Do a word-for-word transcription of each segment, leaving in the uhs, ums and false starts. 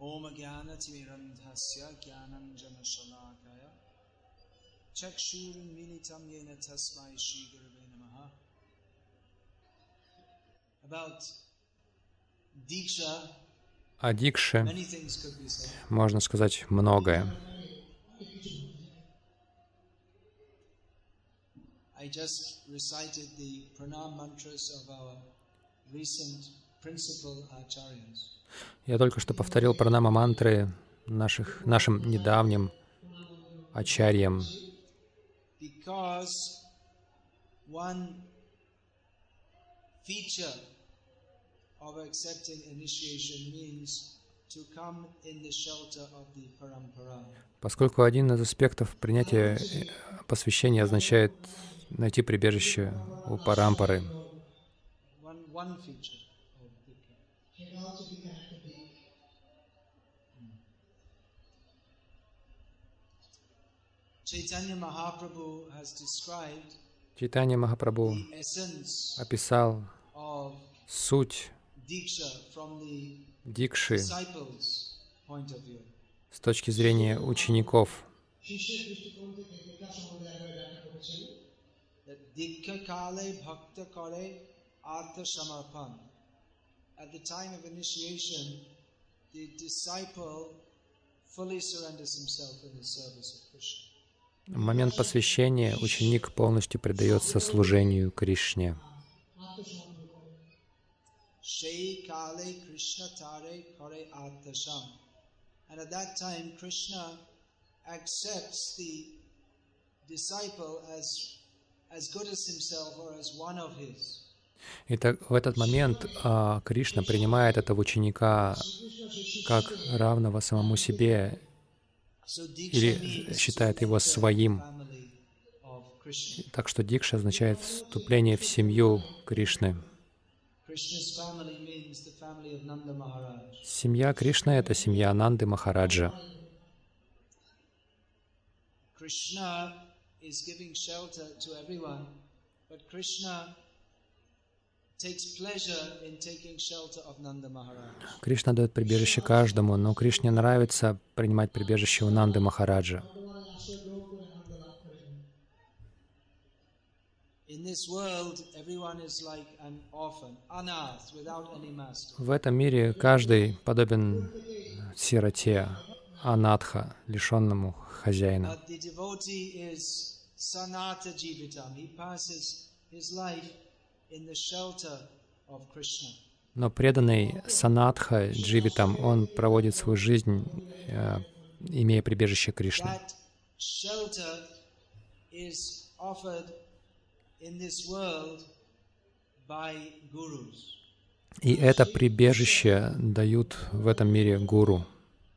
Om Jnana Timirandhasya Jnananjana Shalakaya Chakshurun Militam Yena Tasmai Shri Gurave Namaha. About Diksha, О дикше many things could be said. можно сказать многое. I just recited the pranam mantras of our recent principal acharyas. Я только что повторил пранама мантры наших, нашим недавним ачарьям, Because one feature of accepting initiation means to come in the shelter of the parampara. поскольку один из аспектов принятия посвящения означает найти прибежище у парампары. One, one feature of Dikha. Chaitanya Mahaprabhu has described Чайтанья Махапрабху the essence описал of суть Diksha from the дикши disciples' point of view. с точки зрения учеников. That Diksha Kale Bhakta Kare Artha Samarpan. At the time of initiation, the disciple fully surrenders himself in the service of Krishna. В момент посвящения ученик полностью предается служению Кришне. Shei Kale Krishna Tare Kare Artha Sam. And at that time, Krishna accepts the disciple as as good as himself or as one of his. И так, в этот момент а, Кришна принимает этого ученика как равного самому себе So Diksha или means считает его своим. family of Krishna. Так что дикша означает вступление в семью Кришны. Krishna's family means the family of Nanda Maharaj. Семья Кришны — это семья Нанды Махараджа. Krishna is giving shelter to everyone, but Krishna takes pleasure in taking shelter of Nanda Maharaj. Кришна дает прибежище каждому, но Кришне нравится принимать прибежище у Нанды Махараджа. In this world, everyone is like an orphan, anath, without any master. В этом мире каждый подобен сироте, анатха, лишенному хозяина. But the devotee is sanata jivitam. He passes his life in the shelter of Krishna. Но преданный санатха дживитам, он проводит свою жизнь, э, имея прибежище Кришны. That shelter is offered in this world by gurus. И это прибежище дают в этом мире гуру.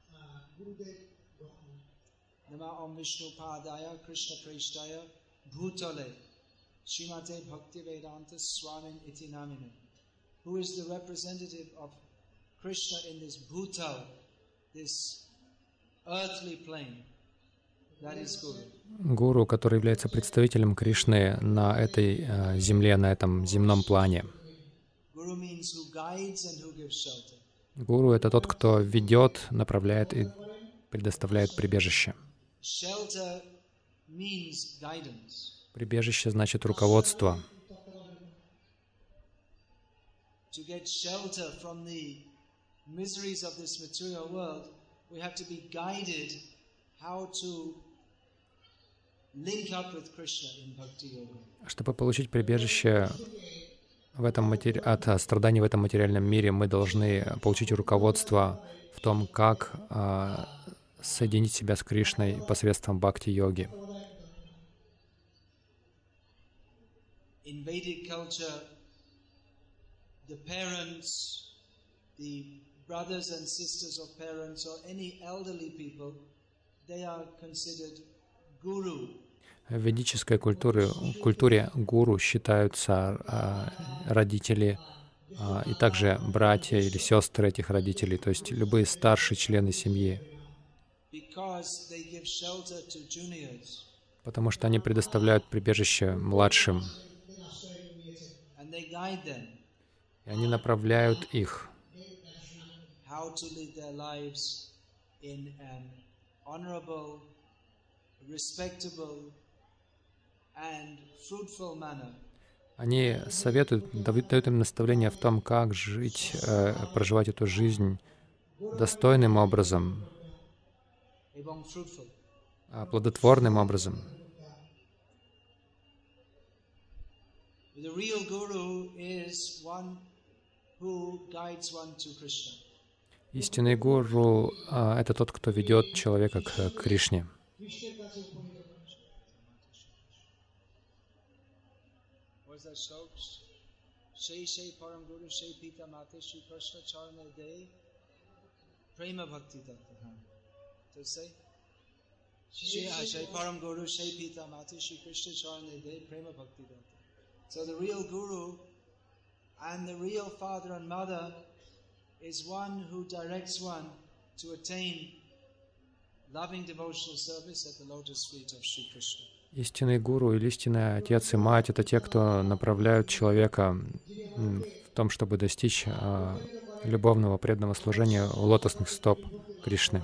Nama Om Vishnu Padaya Krishna Preshtaya Bhutale Srimate Bhaktivedanta Swamin Iti Namine. Who is the representative of Krishna in this Bhutal, this earthly plane? That is Guru. Гуру, который является представителем Кришны на этой э, земле, на этом земном плане. Guru means who guides and who gives shelter. Гуру — это тот, кто ведет, направляет и предоставляет прибежище. Shelter means guidance. Прибежище значит руководство. To get shelter from the miseries of this material world, we have to be guided how to link up with Krishna in Bhakti Yoga. Чтобы получить прибежище в этом матери... от страданий в этом материальном мире, мы должны получить руководство в том, как а, соединить себя с Кришной посредством бхакти-йоги. In Vedic culture, the parents, the brothers and sisters of parents, or any elderly people, they are considered guru. В ведической культуре, культуре гуру считаются а, родители а, и также братья или сестры этих родителей, то есть любые старшие члены семьи, Because they give shelter to juniors потому что они предоставляют прибежище младшим, and they guide them. и они направляют их. how to lead their lives in an honorable, respectable and fruitful manner. Они советуют, дают им наставления в том, как жить, э, проживать эту жизнь достойным образом, плодотворным образом. Истинный гуру — это тот, кто ведет человека к Кришне. So the real guru and the real father and mother is one who directs one to attain loving devotional service at the lotus feet of Sri Krishna. Истинный гуру или истинный отец и мать — это те, кто направляют человека в том, чтобы достичь а, любовного преданного служения у лотосных стоп Кришны.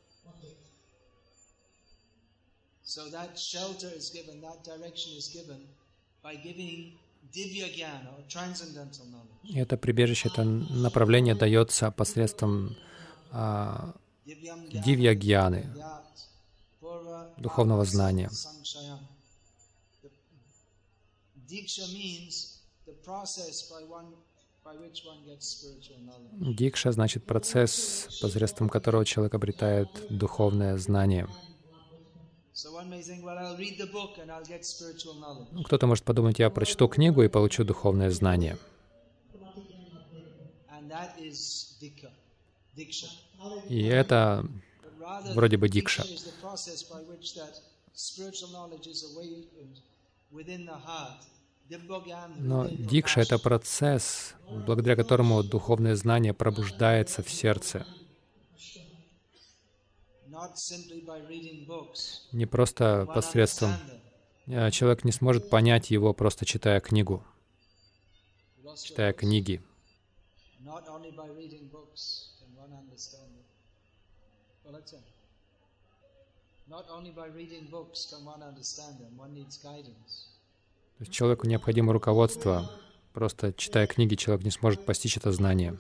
So that shelter is given, that direction is given by giving divya jnana or transcendental knowledge. И это прибежище, это направление дается посредством а, дивья-гьяны, духовного знания. Дикша значит процесс, посредством которого человек обретает духовное знание. Кто-то может подумать, я прочту книгу и получу духовное знание. И это вроде бы дикша. Но дикша — это процесс, благодаря которому духовное знание пробуждается в сердце. Не просто посредством. Человек не сможет понять его, просто читая книгу, читая книги. То есть человеку необходимо руководство. Просто читая книги, человек не сможет постичь это знание.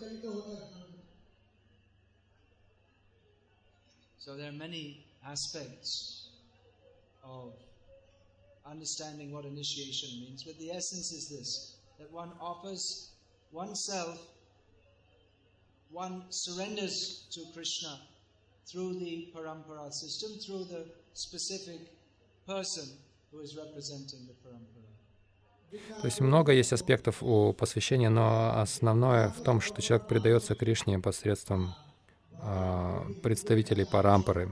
So there are many aspects of understanding what initiation means, but the essence is this, that one offers oneself, one surrenders to Krishna through the parampara system, through the specific person who is representing the parampara. То есть много есть аспектов у посвящения, но основное в том, что человек предается Кришне посредством представителей парампары.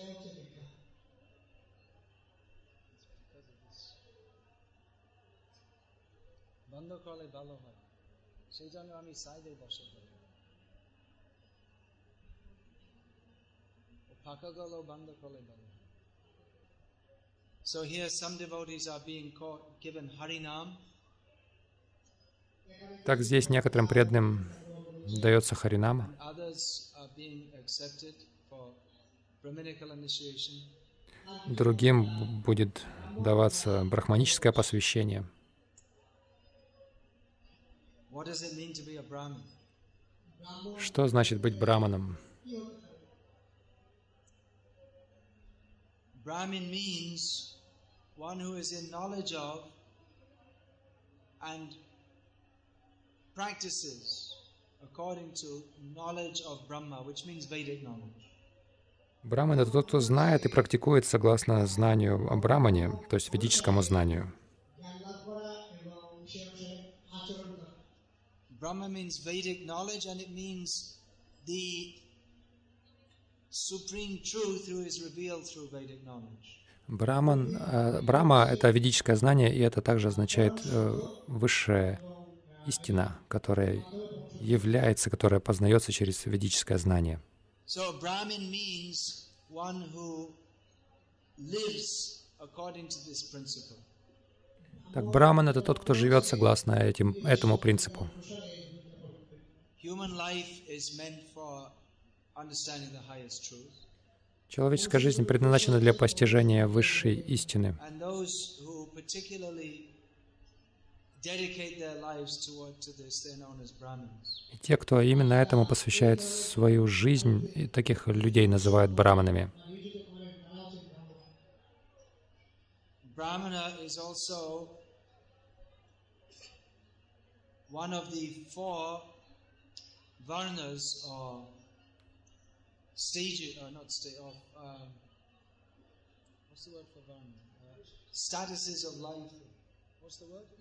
So here some devotees are being given Harinam. Так здесь некоторым преданным дается Харинама. Другим будет даваться брахманическое посвящение. Что значит быть браманом? Brahmin means one who is in knowledge of and practices according to knowledge of Brahma, which means Vedic knowledge. Браман — это тот, кто знает и практикует согласно знанию о Брамане, то есть ведическому знанию. Brahma means Vedic knowledge, and it means the supreme truth who is revealed through Vedic knowledge. Браман, э, Брахма — это ведическое знание, и это также означает э, высшая истина, которая является, которая познается через ведическое знание. So Brahmin means one who lives according to this principle. Так, Браман — это тот, кто живет согласно этим, этому принципу. Human life is meant for understanding the highest truth. Человеческая жизнь предназначена для постижения высшей истины. And those who particularly dedicate their lives toward to this, they're known as Brahmins. И те, кто именно этому посвящает свою жизнь, и таких людей называют браманами. Brahmana is also one of the four varnas or stages, or not stage of um, what's the word for varna? Uh, statuses of life. What's the word?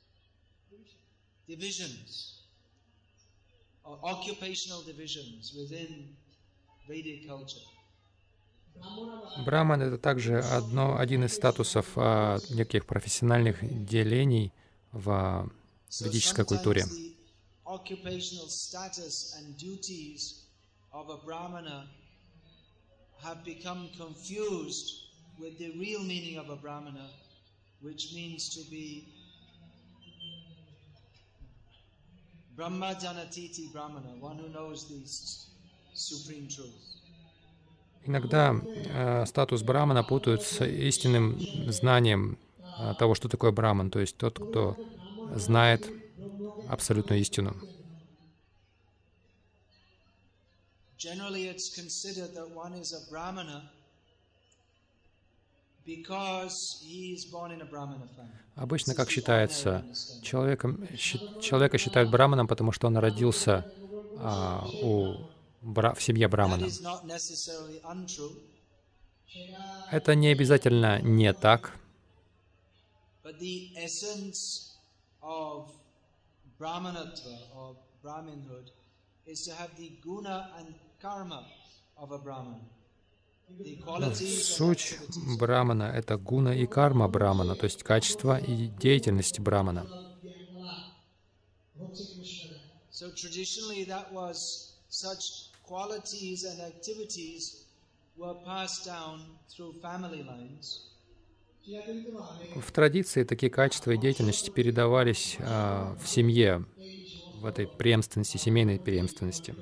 Divisions, or occupational divisions within Vedic culture. Браман — это также одно, один из статусов а, неких профессиональных делений в ведической культуре. Occupational status and duties of a brahmana have become confused with the real meaning of a brahmana, which means to be Brahma Janatiti Brahmana, one who knows the supreme truth. Иногда э, статус брамана путают с истинным знанием э, того, что такое браман, то есть тот, кто знает абсолютную истину. Generally, it's considered that one is a brahmana because he is born in a brahmana family. Обычно, как считается, человеком, человека считают браманом, потому что он родился а, у, бра, в семье брамана. Это не обязательно не так. Но суть брамана — это гуна и карма брамана, то есть качество и деятельность брамана. В традиции такие качества и деятельность передавались а, в семье, в этой преемственности, семейной преемственности.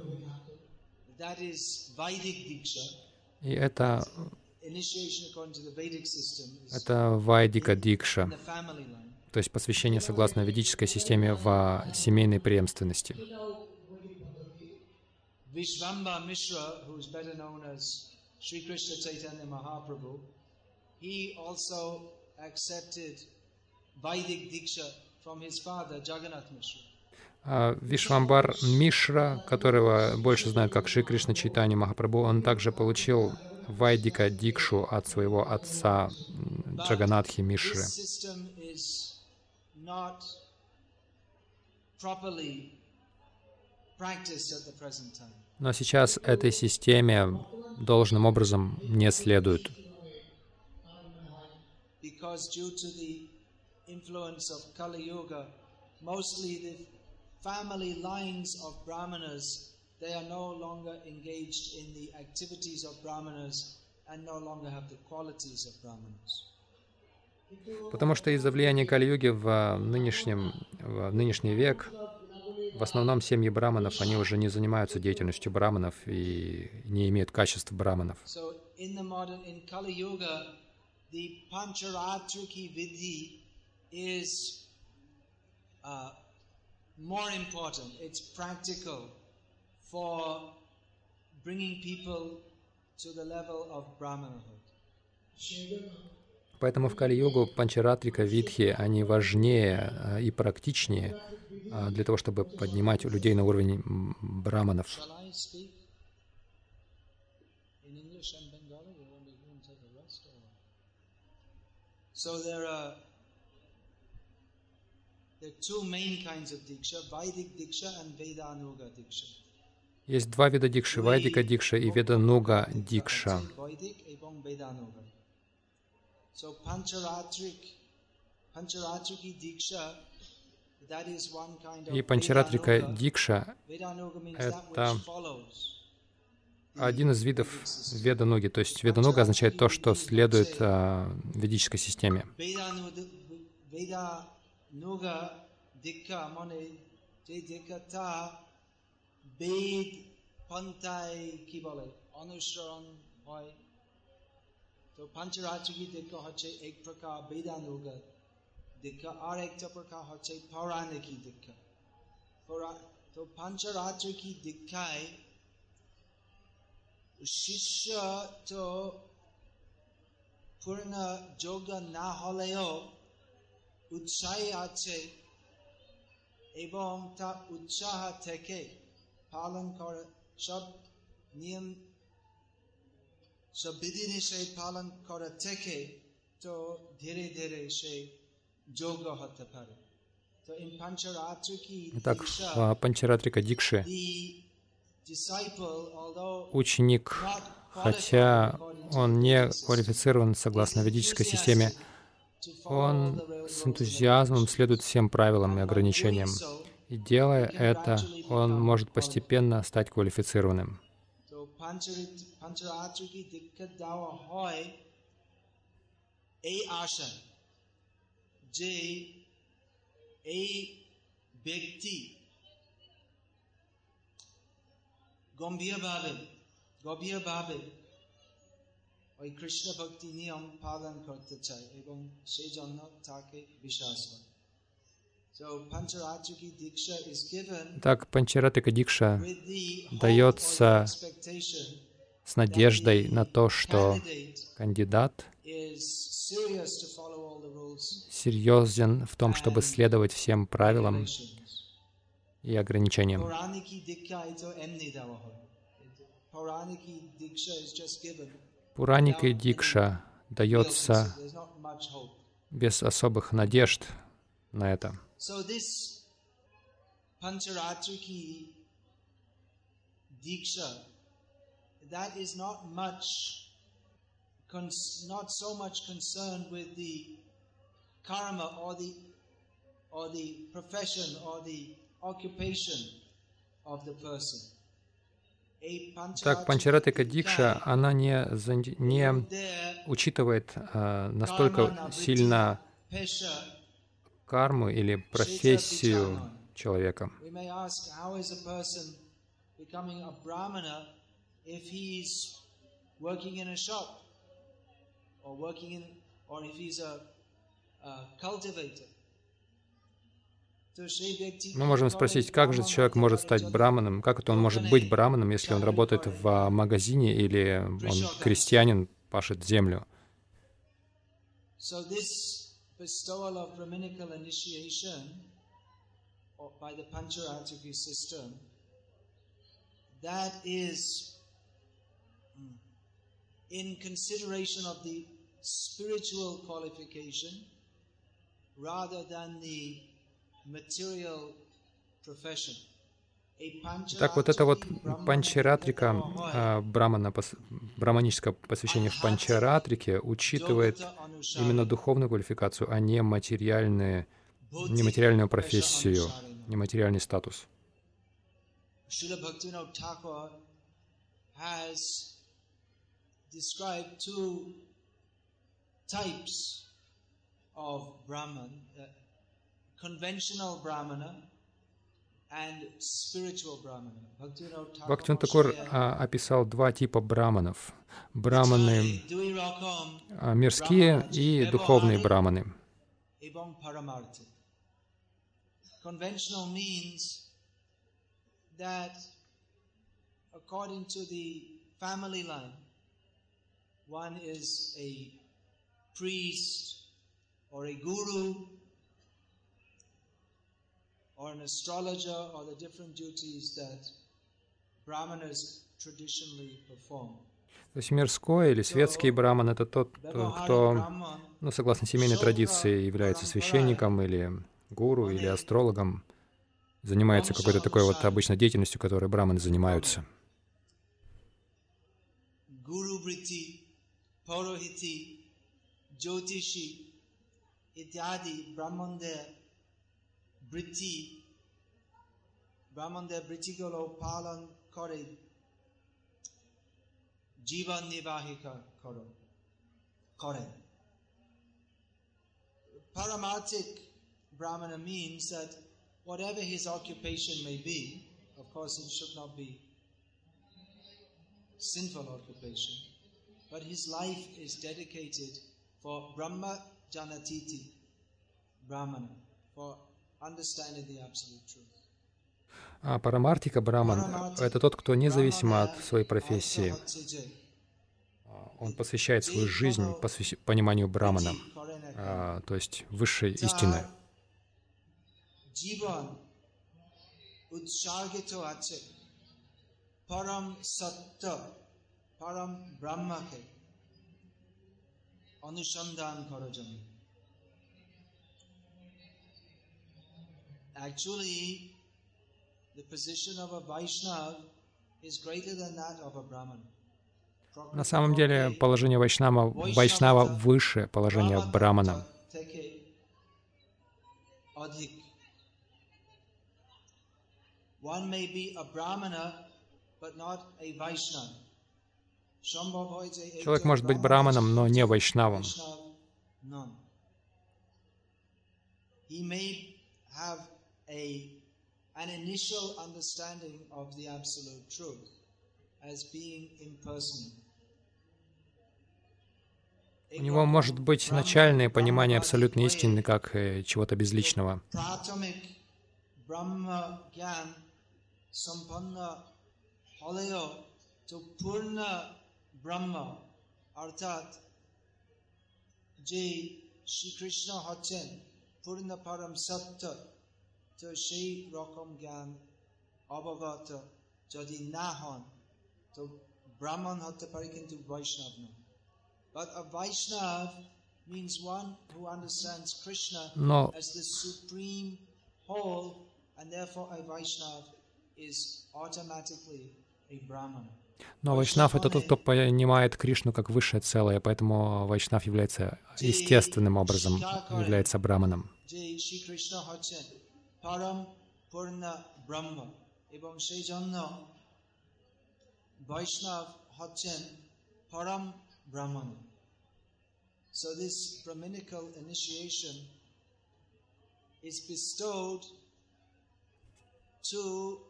И это, это Вайдика Дикша, то есть посвящение согласно ведической системе в семейной преемственности. Vishvamba Mishra, who is better known as Sri Krishna Chaitanya Mahaprabhu, he also accepted Vaidik Diksha from his father Jagannath Mishra. Вишвамбар Мишра, которого больше знают как Шри Кришна Чайтанья Махапрабху, он также получил Вайдика Дикшу от своего отца Джаганатхи Мишры. Но сейчас этой системе должным образом не следует. Family lines of brahmanas, they are no longer engaged in the activities of brahmanas and no longer have the qualities of brahmanas. Потому что из-за влияния Кали-юги в, нынешнем, в нынешний век в основном семьи браманов, они уже не занимаются деятельностью браманов и не имеют качеств браманов. So in the modern, in Kali Yuga, the Pancharatriki Vidhi is uh, more important. It's practical for bringing people to the level of Brahmanahood. Поэтому в Кали-югу Панчаратрика Видхи, они важнее и практичнее для того, чтобы поднимать людей на уровень браманов. So there are There are two main kinds of diksha, Vaidik diksha and Vedanuga diksha. Есть два вида дикши, Вайдика дикша и Ведануга дикша. So Pancharatrik, Pancharatriki diksha, that is one kind of И Панчаратрика дикша — это один из видов Ведануги, то есть Ведануга означает то, что следует а, ведической системе. Nuga dikka mone te dikkata ved পন্থায় কি বলে অনুসরণ হয়। তো পঞ্চরাত্রিকী দীক্ষা হচ্ছে এক প্রকার বেদানুগত দীক্ষা, আর একটা প্রকার হচ্ছে পৌরাণিকী দীক্ষা। তো পঞ্চরাত্রিকী দীক্ষায় শিষ্য তো পূর্ণ যোগ্য না হলেও উৎসাহী আছে এবং তা উৎসাহ থেকে পালন করে সব নিয়ম সব বিধিনিষেধ পালন করা থেকে তো ধীরে ধীরে সে যোগ্য হতে পারে। তো in Pancharatriki Итак, в Панчаратрика Дикши ученик, хотя он не квалифицирован согласно ведической системе, он с энтузиазмом следует всем правилам и ограничениям. И делая это, он может постепенно стать квалифицированным. গম্ভীরভাবে গভীরভাবে ওই কৃষ্ণ ভক্তি নিয়ম পালন করতে চায় এবং সেই জন্য তাকে বিশ্বাস হয়। Так, Панчаратрика Дикша дается с надеждой на то, что кандидат серьезен в том, чтобы следовать всем правилам и ограничениям. Пураника и Дикша дается без особых надежд на это. So this Pancharatriki Diksha, that is not much, not so much concerned with the karma or the or the profession or the occupation of the person. Так, Панчаратрика Дикша, она не, не учитывает а, настолько сильно карму или профессию человека. Мы можем спросить, как же человек может стать браманом, как это он может быть браманом, если он работает в магазине или он крестьянин, пашет землю. Bestowal of Brahminical initiation by the Pancharatriki system, that is in consideration of the spiritual qualification rather than the material profession. Так вот это вот Панчаратрика, брамана, браманическое посвящение в Панчаратрике учитывает именно духовную квалификацию, а не материальные, нематериальную профессию, нематериальный статус. Бхактивинода Такур описал два типа браманов. Браманы мирские и духовные браманы. Or an astrologer, or the different duties that brahmanas traditionally perform. То есть мирской или светский браман — это тот, кто, ну, согласно семейной традиции, является священником или гуру или астрологом, занимается какой-то такой вот обычной деятельностью, которой браманы занимаются. Guru Vritti, Paurohiti, Jyotishi, ityadi brahmande Vritti, Brahmande Vrittigolo palan kore, Jivan Nivahika koro, kore. Paramarthik Brahmana means that whatever his occupation may be, of course it should not be sinful occupation, but his life is dedicated for Brahma Janatiti, Brahmana, for understanding the absolute truth. А парамартика Браман — это тот, кто независимо от своей профессии, он посвящает свою жизнь посвящ... пониманию Брамана, а, то есть высшей истины. Param Satta, Param Brahmake, Anushandan Karajan. Actually, the position of a Vaishnava is greater than that of a Brahman. На самом деле положение Вайшнава, Вайшнава выше положения Брамана. One may be a Brahmana, but not a Vaishnava. Человек может быть браманом, но не вайшнавом. He may have a, an initial understanding of the absolute truth as being impersonal. У него может быть начальное понимание абсолютной истины как э, чего-то безличного. Sampanna halayo to purna brahma arthat je Shri Krishna hacchen purna param satta to সেই রকম জ্ঞান অবগত যদি না হন তো ব্রাহ্মণ হতে পারে কিন্তু বৈষ্ণব না. But a Vaishnava means one who understands Krishna Но as the supreme whole, and therefore a Vaishnava is automatically a Brahmana. Но Вайшнав — это тот, кто понимает Кришну как высшее целое, поэтому Вайшнав является естественным образом, является браманом. So this Brahminical initiation is bestowed to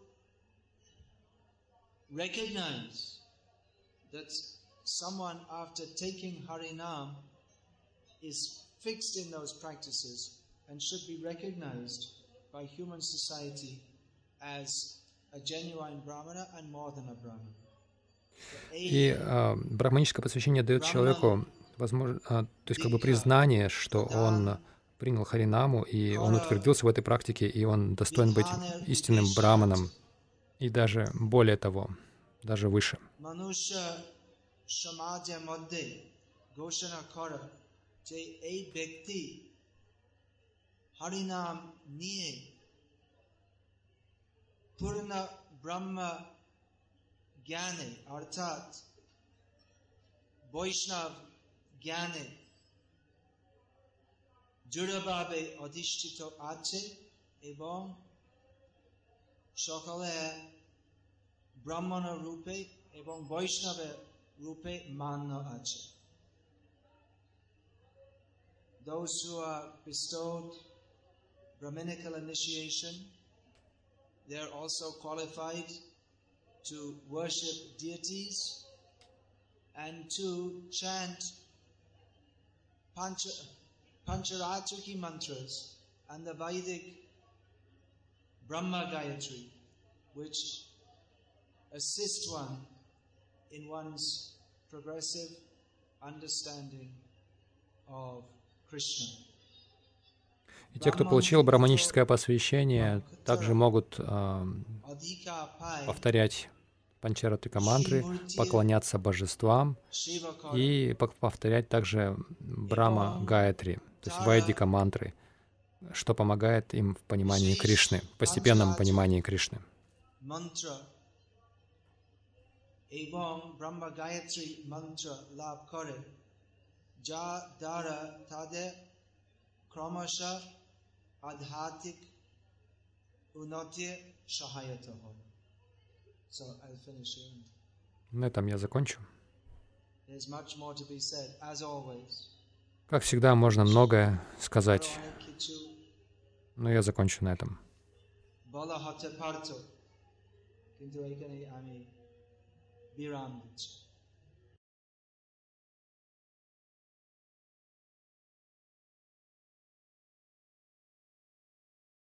recognize that someone, after taking Harinam, is fixed in those practices and should be recognized by human society as a genuine Brahmana and more than a Brahmana. И э, брахманическое посвящение дает человеку возможно, э, то есть как бы признание, что он принял Харинаму, и он утвердился в этой практике, и он достоин быть истинным браманом. И даже более того, даже выше. জড়ভাবে অধিষ্ঠিত আছে এবং সকলে ব্রাহ্মণ রূপে এবং বৈষ্ণব রূপে মান্য আছে. Those who are bestowed Brahminical initiation, they are also qualified to worship deities and to chant Pancha Pancharatriki mantras and the Vedic Brahma Gayatri, which assist one in one's progressive understanding of Krishna. И те, кто получил браманическое посвящение, также могут э, повторять Панчаратика мантры, поклоняться божествам и повторять также Брахма Гаятри, то есть Вайдика мантры, что помогает им в понимании Кришны, в постепенном понимании Кришны. So I'll finish here. На этом я закончу. There's much more to be said, as always. Как всегда, можно многое сказать, но я закончу на этом. Viram Dicha.